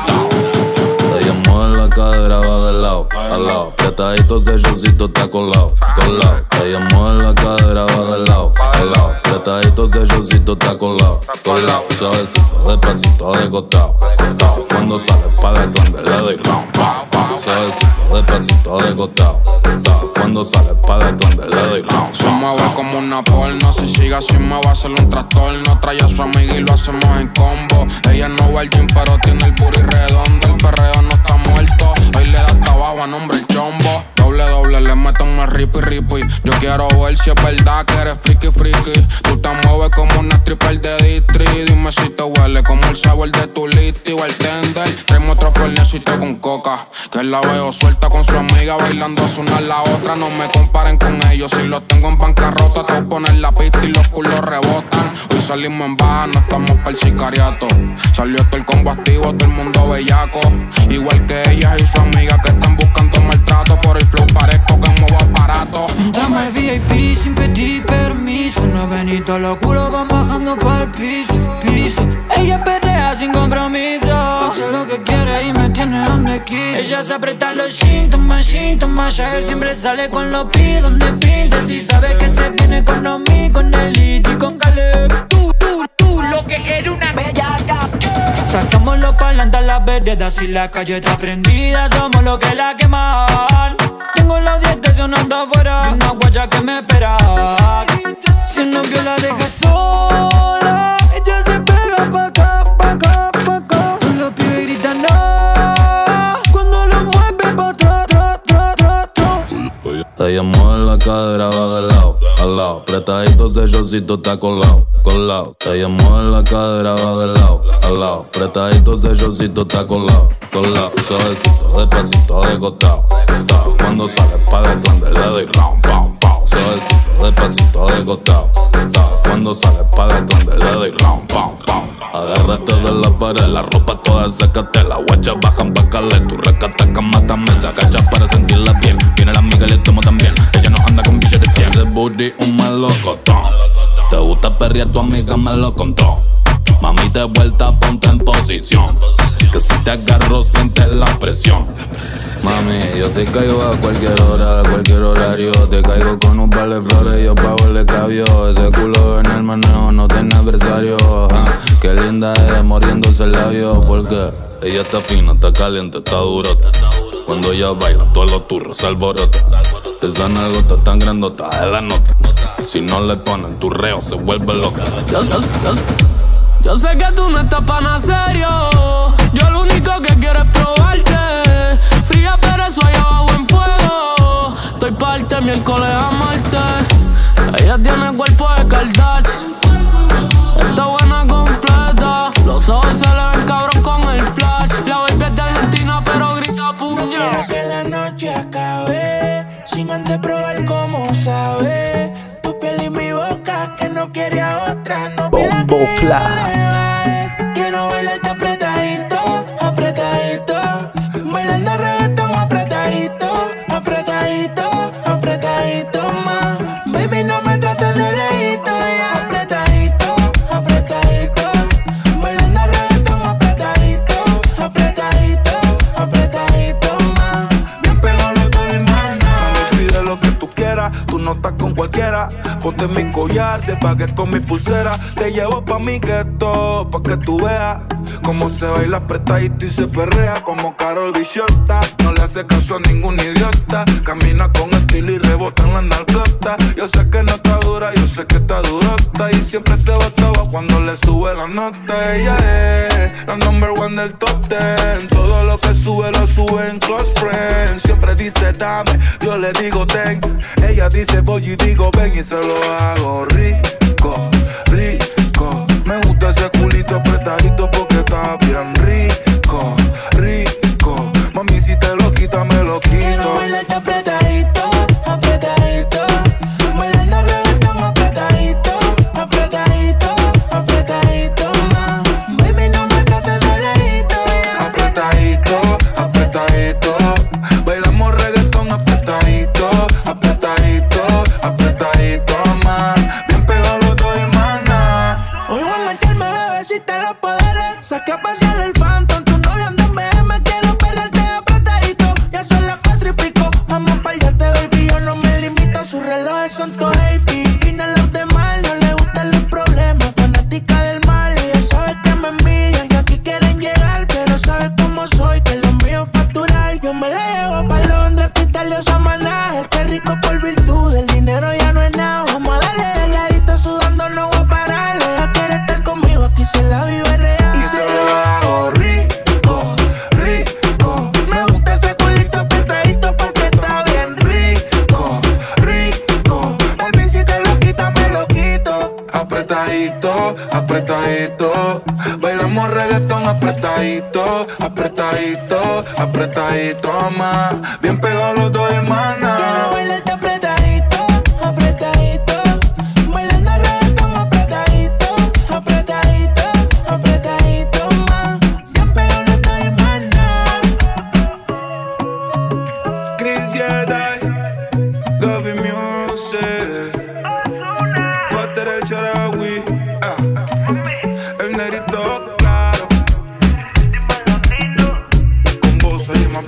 Ella mueve la cadera, va de lado a lado. Apretadito, sellocito está colado, colado. Ella mueve la cadera, va de lado a lado. Apretadito, sellocito está colado, colado. Suavecito, despacito, de costado, costado. Cuando sale para detrás le doy round, pow, pow. Suavecito, despacito, de costado, costado. Cuando sale para detrás le doy round. Se mueve como una porno. Si sigue así me va a hacer un trastorno. Trae a su amiga y lo hacemos en combo. Ella no va al gym pero tiene el booty redondo. El perreo no está muerto. Hoy le da trabajo a nombre el chombo. Doble, le meten más ripi. Yo quiero ver si es verdad que eres friki. Tú te mueves como una stripper de distri. Dime si te huele como el sabor de tu listi o el tender. Traemos otro fornecito con coca, que la veo suelta con su amiga bailando una a la otra. No me comparen con ellos, si los tengo en bancarrota. Te voy a poner la pista y los culos rebotan. Hoy salimos en baja, no estamos para el sicariato. Salió todo el combo activo, todo el mundo bellaco. Igual que ellas y su amiga que están buscando maltrato. Por el flow parezco que muevo aparato. Entramos al VIP sin pedir permiso. No Benito, los culos van bajando para el piso. Ella perrea sin compromiso. Hace lo que quiere y me tiene donde quiso. Ella se aprieta los síntomas. Jagger siempre sale con los pies donde pinta. Si sabe que se viene con Omi, con Elite y con Caleb. Tú, lo que era una bellaca. Sacamos los parlantes a las veredas y la calle está prendida. Somos los que la queman. Tengo la 10 estacionando afuera y una guacha que me espera. Si el novio la deja sola, ella se pega pa' acá. Los pibes gritan no cuando lo mueve pa' atrás. Ella mueve la cadera, va de lado a lado. Apretadito, sellocito está colado. Ella mueve la cadera, va de lado a lado. Apretadito, sellocito está colado. Suavecito, despacito, de costado. Cuando sale para detrás le doy round, pow. Suavecito, despacito, de costado. Cuando sale para detrás le doy round, pow. Agárrate de la pared, la ropa toda sécate. Las guachas bajan pa' caler. Tu rescata cama también se agacha para sentirla bien. Viene la amiga y le tomo también. Ella no anda con billetes de 100. Ese booty un melocotón. Te gusta perrear, tu amiga me lo contó. Mami, de vuelta, ponte en posición. Que si te agarro, sientes la presión. Mami, yo te caigo a cualquier hora, a cualquier horario. Te caigo con un par de flores, yo pago el escabio. Ese culo en el manejo no tiene adversario. Qué linda es, moriéndose el labio. Porque ella está fina, está caliente, está durota. Cuando ella baila, todos los turros se alborotan. Esa nalgota tan grandota es la nota. Si no le ponen tu reo, se vuelve loca. Yo sé que tú no estás pa' nada serio. Yo lo único que quiero es probarte. Fría pero eso allá abajo en fuego. Estoy parte miércoles a martes. Ella tiene cuerpo de Kardashian. Está buena completa. Los ojos se le ven cabrón con el flash. La baby es de Argentina pero grita puño. Quiero que la noche acabe sin antes probar cómo sabe. Tu piel y mi boca que no quiere a otra. No quiero bailarte apretadito, bailando reggaetón apretadito más. Baby, no me trates de lejito, apretadito, bailando reggaetón apretadito. no estás con cualquiera. Ponte mi collar, te pagué con mi pulsera. Te llevo pa' mi gueto, pa' que tú veas cómo se baila apretadito y se perrea como Karol Bichota. No le hace caso a ningún idiota. Camina con estilo y rebota en la nalgota. Yo sé que no está dura, yo sé que está durota. Y siempre se botaba cuando le sube la nota. Ella es la number one del top 10. Todo lo que sube lo sube en Close Friends. Siempre dice dame, yo le digo ten. Ella dice voy y digo ven y se lo hago rico, rico. Me gusta ese culito apretadito porque está bien rico, rico. Mami, si te lo quita, me lo quito. Quiero bailarte apretadito, apretadito. Bailando reggaetón apretadito, apretadito, apretadito, ma. Baby, no me trates de lejito. Apretadito, apretadito. Bailamos reggaetón apretadito, apretadito, apretadito, ma. Bien pegado los dos y mana. Hoy voy a marcharme, bebecita, los poderes. Saqué a pasear el Phantom, tu novia anda en BM. Quiero perrearte apretadito, ya son las 4 y pico. Vamos pa'l yate, baby, yo no me limito. Sus relojes son todos AP, fina los demás. No le gustan los problemas, fanática del mal. Ella sabe que me envidian, que aquí quieren llegar. Pero sabe cómo soy, que lo mío es facturar. Yo me la llevo pa'l donde Pitalio Samaná. El que rico por virtud, el dinero ya no es nada. Vamos a darle de ladito, sudando no voy a parar. Ella quiere estar conmigo, aquí se la vive real. Y se lo hago rico, rico. Me gusta ese culito apretadito porque está bien rico, rico. Baby, si te lo quita, me lo quito. Apretadito, apretadito. Bailamos reggaetón apretadito, apretadito, apretadito, más. Bien pegados los dos y mana. Quiero bailarte apretadito, apretadito. Bailando reggaetón apretadito, apretadito, apretadito, ma. Bien pegado los dos y mana. Chris Jedi, Gaby Music, Fater el Charawi, el negrito claro, con vos y más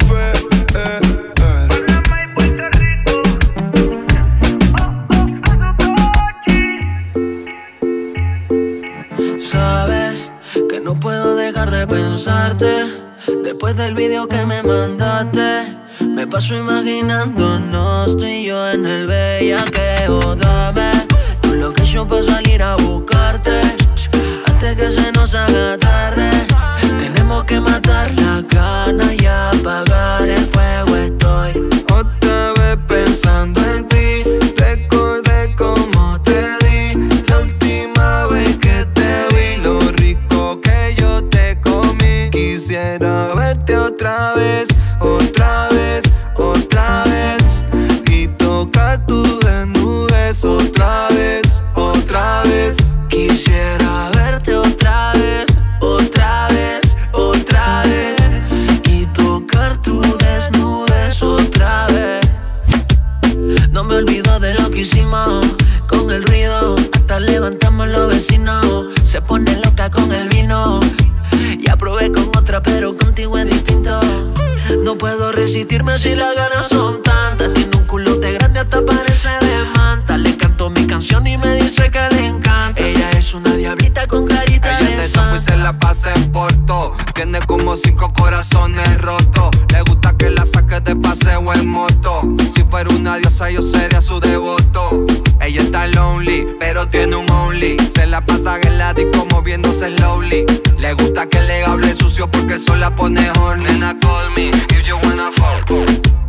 Sabes que no puedo dejar de pensarte. Después del video que me mandaste, me paso imaginándonos tú y yo en el bellaqueo. Dame tu location pa' salir a buscarte antes que se nos haga tarde. Tenemos que matar la gana y apagar el fuego. Estoy otra vez pensando en ti. Recordé cómo te di la última vez que te vi, lo rico que yo te comí. Quisiera verte otra vez, otra vez, otra vez, y tocar tu desnudez otra vez, otra vez. Quisiera verte otra vez, otra vez, otra vez, y tocar tu desnudez otra vez. No me olvido de lo que hicimos con el ruido, hasta levantamos los vecinos. Se pone loca con el vino, ya probé con otra pero contigo es distinto. No puedo resistirme si las ganas son tantas. Tiene un culote grande hasta parece de manta. Le canto mi canción y me dice que le encanta. Ella es una diablita con carita ella de de santa. Sambo y se la pasa en Porto. Tiene como 5 corazones rotos. Le gusta que la saque de paseo en moto. Si fuera una diosa yo sería su devoto. Ella está lonely, pero tiene un only. Se la pasa en la disco moviéndose slowly. Le gusta que le hable sucio porque eso la pone horny. Nena, call me if you wanna fuck.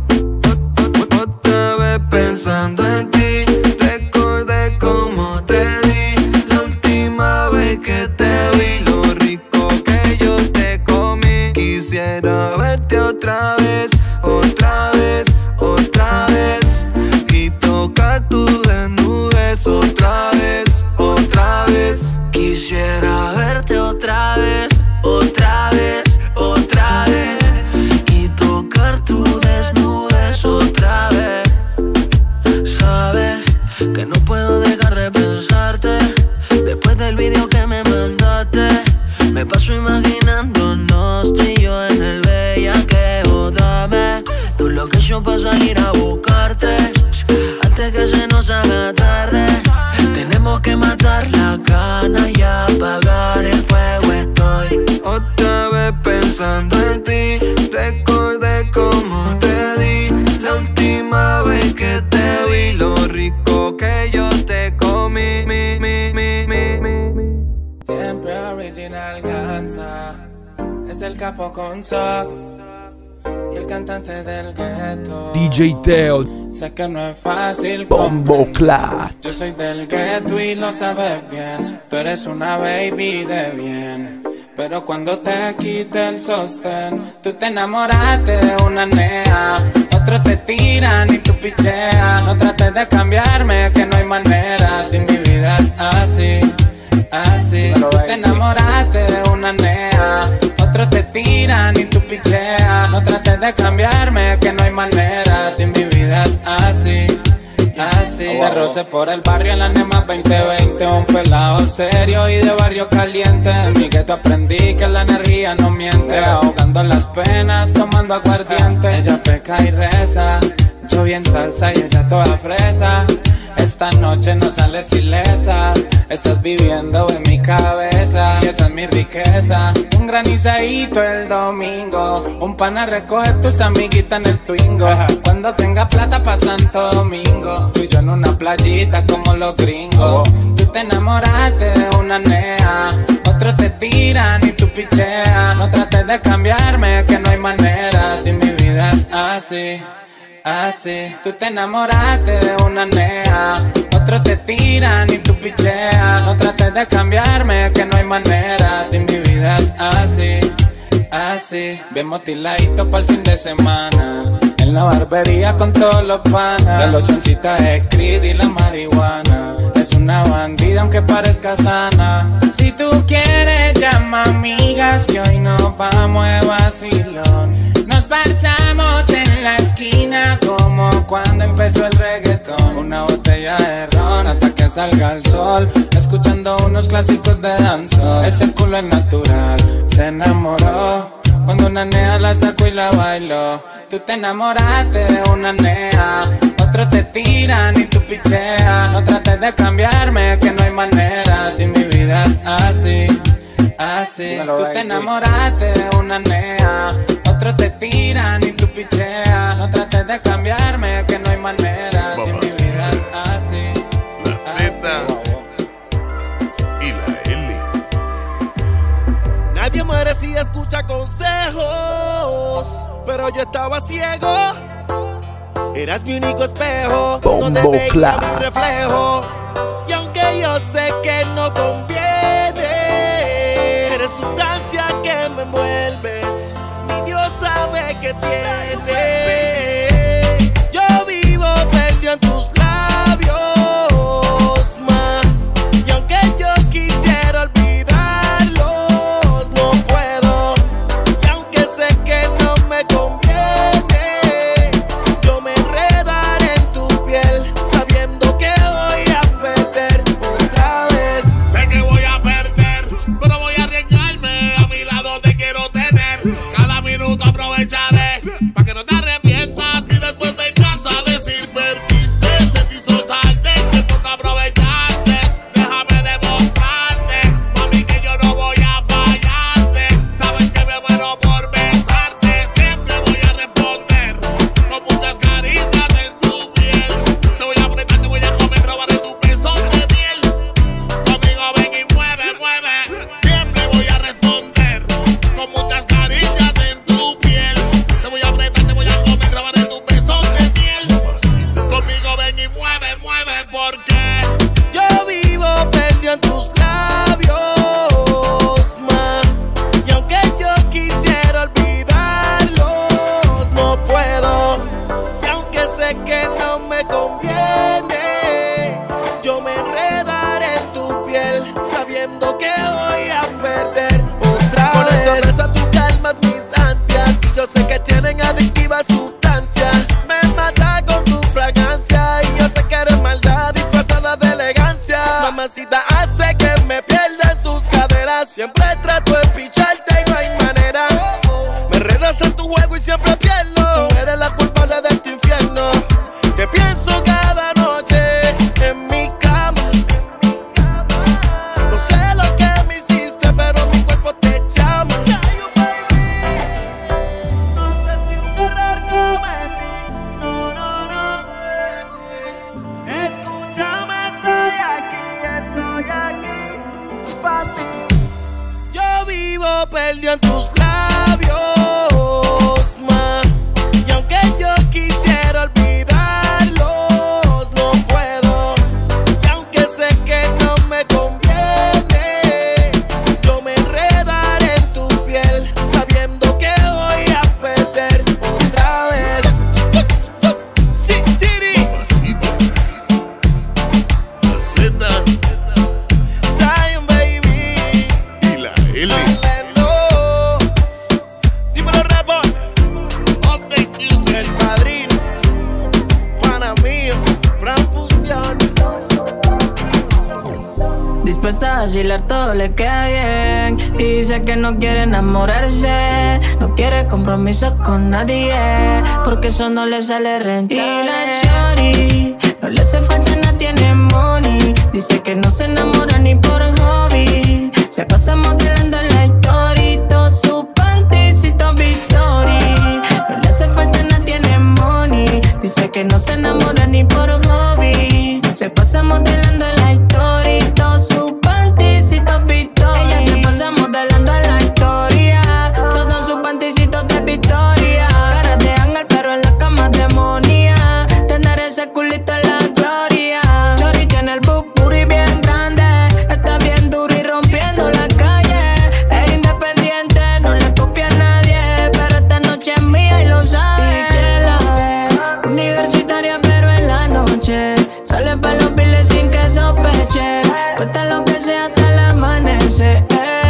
Otra vez pensando en ti, recordé cómo te di la última vez que te vi, lo rico que yo te comí. Quisiera verte otra vez, otra vez, otra vez, y tocar tu desnudez otra vez, otra vez. Quisiera verte otra vez, otra vez, otra vez, y tocar tu desnudez otra vez. Sabes que no puedo dejar de pensarte. Después del video que me mandaste, me paso imaginándonos tú y yo en el bellaqueo. Dame tu location pa' salir a buscarte antes antes que se nos haga tarde. Tenemos que matar la gana y apagar el fuego. Estoy otra vez pensando en ti. Recordé cómo te di la última vez que te vi, lo rico que yo te comí. Siempre original gangsta. Es el capo con Sock y el cantante del ghetto. DJ Teo. Sé que no es fácil Bombo Clat. Yo soy del ghetto y lo sabes bien. Tú eres una baby de bien, pero cuando te quite el sostén, tú te enamoraste de una nea. Otros te tiran y tú picheas. No trates de cambiarme, que no hay manera. Si mi vida es así, así. Tú te enamoraste de una nea. Otros te tiran y tú picheas. No trates de cambiarme, que no hay manera. Si mi vida es así, así. De roce por el barrio en la NEMA 2020. Un pelado serio y de barrio caliente. En mi gueto aprendí que la energía no miente. Ahogando las penas, tomando aguardiente. Ella peca y reza, yo bien salsa y ella toda fresa. Esta noche no sales ilesa. Estás viviendo en mi cabeza y esa es mi riqueza. Un granizadito el domingo. Un pana recoge tus amiguitas en el Twingo. Cuando tenga plata pa' Santo Domingo. Tú y yo en una playita como los gringos. Tú te enamoraste de una nea. Otros te tiran y tú picheas. No trates de cambiarme, que no hay manera. Si mi vida es así, así. Tú te enamoraste de una nea. Otros te tiran y tú picheas. No trates de cambiarme, que no hay manera. Si mi vida es así, así. Bien motiladito pa'l fin de semana. En la barbería con todos los panas. La locioncita es Creed y la marihuana. Es una bandida aunque parezca sana. Si tú quieres llama amigas, que hoy nos vamos de vacilón. Nos parchamos en la esquina como cuando empezó el reggaetón. Una botella de ron hasta que salga el sol, escuchando unos clásicos de danzón. Ese culo es natural, se enamoró cuando una nea la sacó y la bailó. Tú te enamoraste de una nea. Otros te tiran y tú picheas. No trates de cambiarme, que no hay manera. Si mi vida es así, así. Tú te enamoraste de una nea. Otros te tiran y tú picheas. No trates de cambiarme, que no hay manera. Si mi vida es así, la Z y la L. Nadie muere si escucha consejos, pero yo estaba ciego. Eras mi único espejo, donde veía mi reflejo. Y aunque yo sé que no conviene, eres sustancia que me envuelves. Mi Dios sabe que tiene. Yo vivo perdido en tus labios, ma. Y aunque yo quisiera olvidarlos, no puedo. Y aunque sé que no me conviene, yo me enredaré en tu piel, sabiendo que voy a perder otra vez. Sé que voy a perder, pero voy a arriesgarme. A mi lado te quiero tener. Cada minuto aprovecharé, pa' que no te arrepientas. Y después vengas a decir perdiste. Se te hizo tarde, que tú no aprovechaste. Déjame demostrarte, mami, que yo no voy a fallarte. Sabes que me muero por besarte. Siempre voy a responder con muchas caricias en tu piel. Te voy a apretar, te voy a comer, robaré tus besos de miel. Conmigo ven y mueve, mueve. Siempre voy a responder con muchas caricias en tu piel. Te voy a apretar, te voy a comer, robaré tus besos de miel. Conmigo ven y mueve, mueve, porque Yo vivo perdido en tus labios, ma. Y aunque yo quisiera olvidarlos, no puedo. Y aunque sé que no me conviene, yo me enredaré en tu piel, sabiendo que voy a perder otra vez. Con eso reza tú calmas mis ansias. Yo sé que tienen adictivas sustancias. Me mata con tu fragancia. Y yo sé que eres maldad disfrazada de elegancia. Mamacita hace que me pierda en sus caderas. Siempre trato de picharte y no hay manera. Me enredas en tu juego y siempre pierdo. Tú eres la culpable de este infierno. Te pienso cada noche. a vacilar todo le queda bien. Y dice que no quiere enamorarse, no quiere compromisos con nadie, porque eso no le sale rentable. Y la shorty no le hace falta nada, tiene money. Dice que no se enamora ni por hobby. Se pasa modelando la historia, todo su panticito Victory. No le hace falta nada, tiene money. Dice que no se enamora ni por hobby. Se pasa modelando la historia, todo su panticito Victory. Ella se pasa modelando la historia, todos sus panticitos de Victoria. Cara de ángel pero en la cama demonia. Tener ese culito en la gloria. Chori tiene el booty bien grande, está bien duro y rompiendo la calle. Es independiente, no le copia a nadie, pero esta noche es mía y lo sabe. Y que la ve, universitaria pero en la noche sale pa' los piles sin que sospeche. Cuesta lo que sea hasta el amanecer.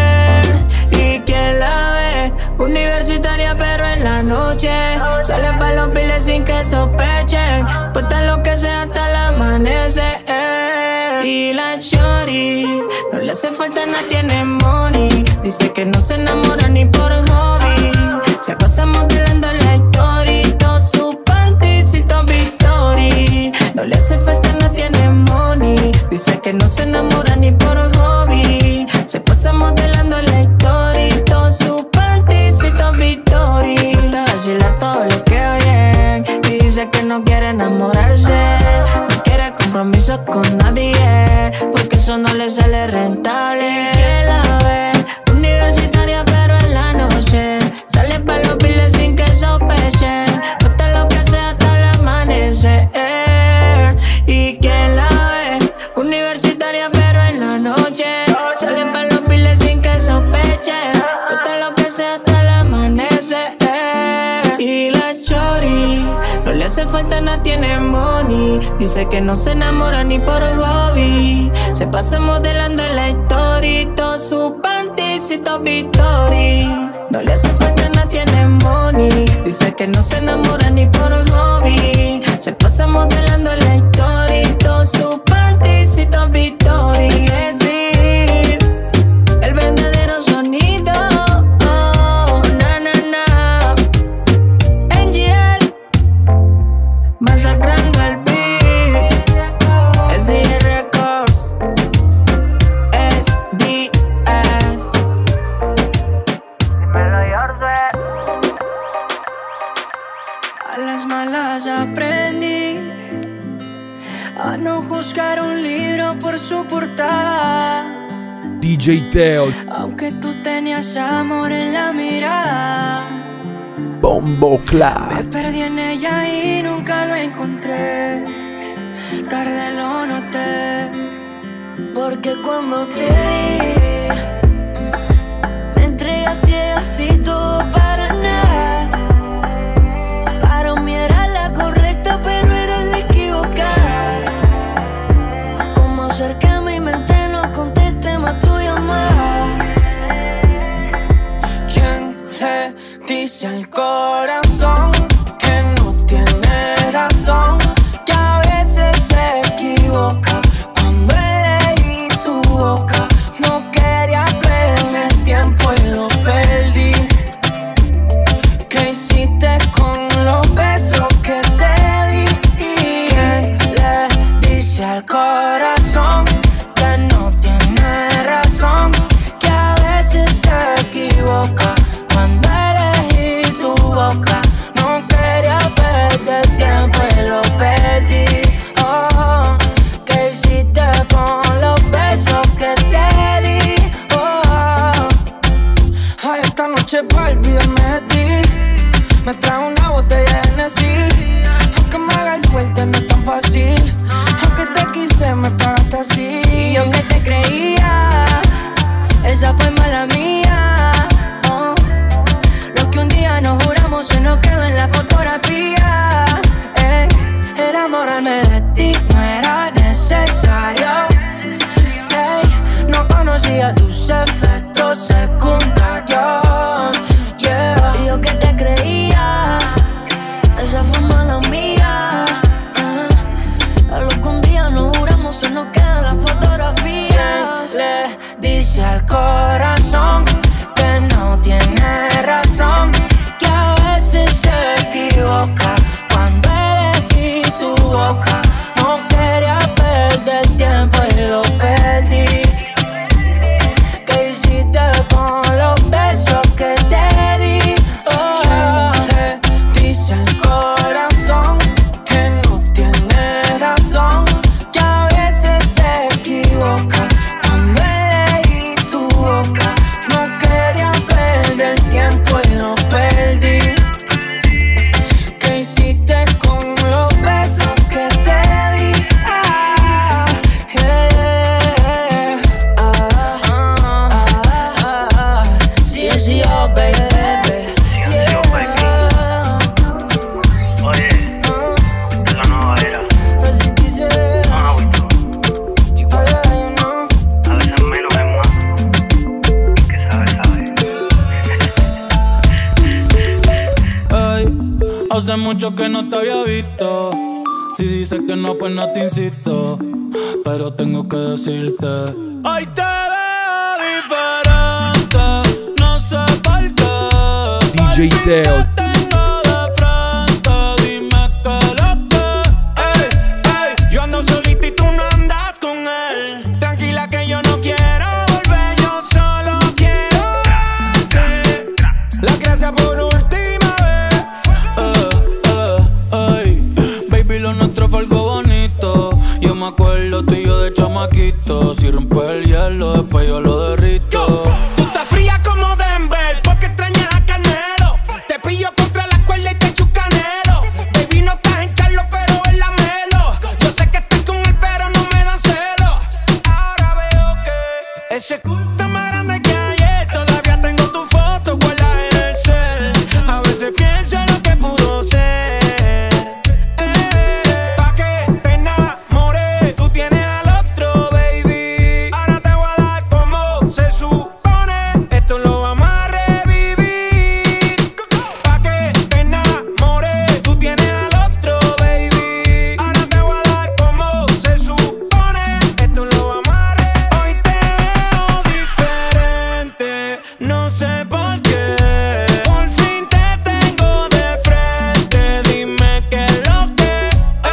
Y que la ve, universitaria pero en la noche sale pa' los piles sin que sospechen. Cuesta lo que sea hasta el amanecer. Y la shorty no le hace falta nada, tiene money. Dice que no se enamora ni por hobby. Se pasa modelando la historia, todo su panticito Victory. No le hace falta nada, tiene money. Dice que no se enamora ni por hobby. Se pasa modelando la historia, todo su panticito Victory. Te vacila todo lo que oyen y dice que no quiere enamorarse, no quiere compromisos con nadie, porque eso no le sale rentable. Que la ve, universitaria pero en la noche sale pa' los piles sin que sospechen. Cuesta lo que sea hasta el amanecer. Y que la ve, universitaria pero en la noche sale pa' los piles sin que sospechen. Cuesta lo que sea hasta el amanecer. Y la shorty no le hace falta nada, tiene money. Dice que no se enamora ni por hobby. Se pasa modelando en la historia, todo su panticito Victory. No le hace falta nada, tiene money. Dice que no se enamora ni por hobby. Se pasa modelando en la historia, todo su panticito Victory. Es decir, el verdadero sonido. Oh, na na na. NGL masacrando el beat. SDR Records. SDS. A las malas aprendí a no juzgar un libro por su portada. DJ Teo, Aunque tú tenías amor en la mirada, Bombo me Clat. perdí en ella y nunca lo encontré. Tarde lo noté, porque cuando te vi me entregué así todo para nada. Para mí era la correcta, pero era la equivocada. Como hacer que mi mente no conteste más tu llamada. ¿Quién le dice al corazón que no tiene razón? Que a veces se equivoca. Cuando elegí tu boca, no quería perder tiempo y lo perdí. ¿Qué hiciste con los besos que te di? ¿Quién le dice al corazón que no tiene razón? Que a veces se equivoca. Cuando elegí tu boca, no quería perder tiempo y lo perdí. Oh, ¿qué hiciste con los besos que te di? Oh, ay, esta noche pa' olvidarme de ti me trae una botella de Hennessy. Aunque me haga el fuerte no es tan fácil. Aunque te quise me pagaste así. Y yo que te creía, esa fue mala mía. Oh, lo que un día nos juramos se nos quedó en la fotografía. Enamorarme de ti no era necesario. No conocía tus efectos secundarios. Yeah. Y yo que te creía, esa fue mala mía. A lo que un día nos juramos se nos queda en la fotografía. Hace mucho que no te había visto. Si dices que no, pues no te insisto. Pero tengo que decirte: hoy te veo diferente. No sé por qué. DJ Teo. Si rompes el hielo, después yo lo derrito. Tú estás fría como Denver, porque extrañas a Canelo. Te pillo contra la cuerda y te echo canelo. Baby, no estás en Charlo, pero en la Melo. Yo sé que estás con él, pero no me dan celo. Ahora veo que ese culo está más grande que ayer. Todavía tengo tu foto guardada en el cel. A veces pienso en lo que pudo ser. Pa' que te enamores, tú tienes al otro, baby. Ahora te voy a dar como se supone. Esto lo vamos a revivir. Pa' que te enamores, tú tienes al otro, baby. Ahora te voy a dar como se supone. Esto lo vamos a revivir. Hoy te veo diferente, no sé por qué. Por fin te tengo de frente, dime qué es lo que.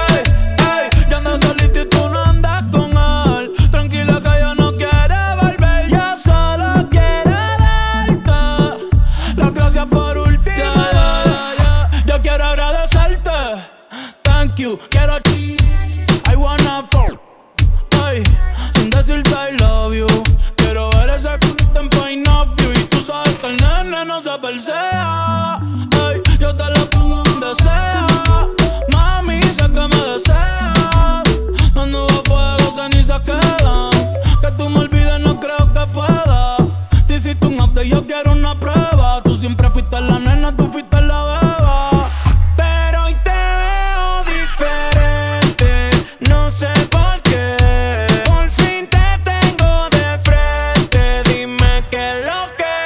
Yo ando solito y tú no andas con él. Tranquila que yo no quiero volver. Yo solo quiero darte las gracias por última vez. Yo quiero agradecerte. Thank you. Quiero I wanna fuck. Ay, sin decirte I love you. Quiero ver ese culo en point of view. Y tú sabes que el nene no se persea. Ay, yo te lo pongo donde sea. Mami, sé que me deseas. Las nubes fuego, cenizas quedan. Que tú me olvides no creo que pueda. Te hiciste un update, yo quiero una prueba. Tú siempre fuiste la nena, tú fuiste la beba. Pero hoy te veo diferente, no sé por qué. Por fin te tengo de frente, dime qué es lo que.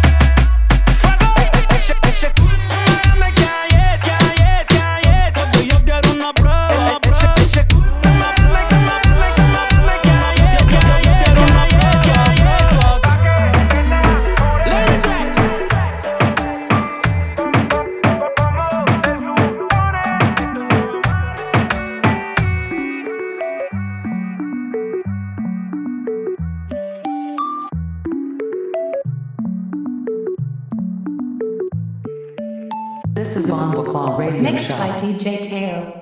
Ese culo más grande que ayer, que ayer, que ayer. Porque yo quiero una prueba. Ese culo más grande que ayer, que ayer, que ayer, que ayer. This is Bomba Claw Radio Mixed Show. by DJ Teo.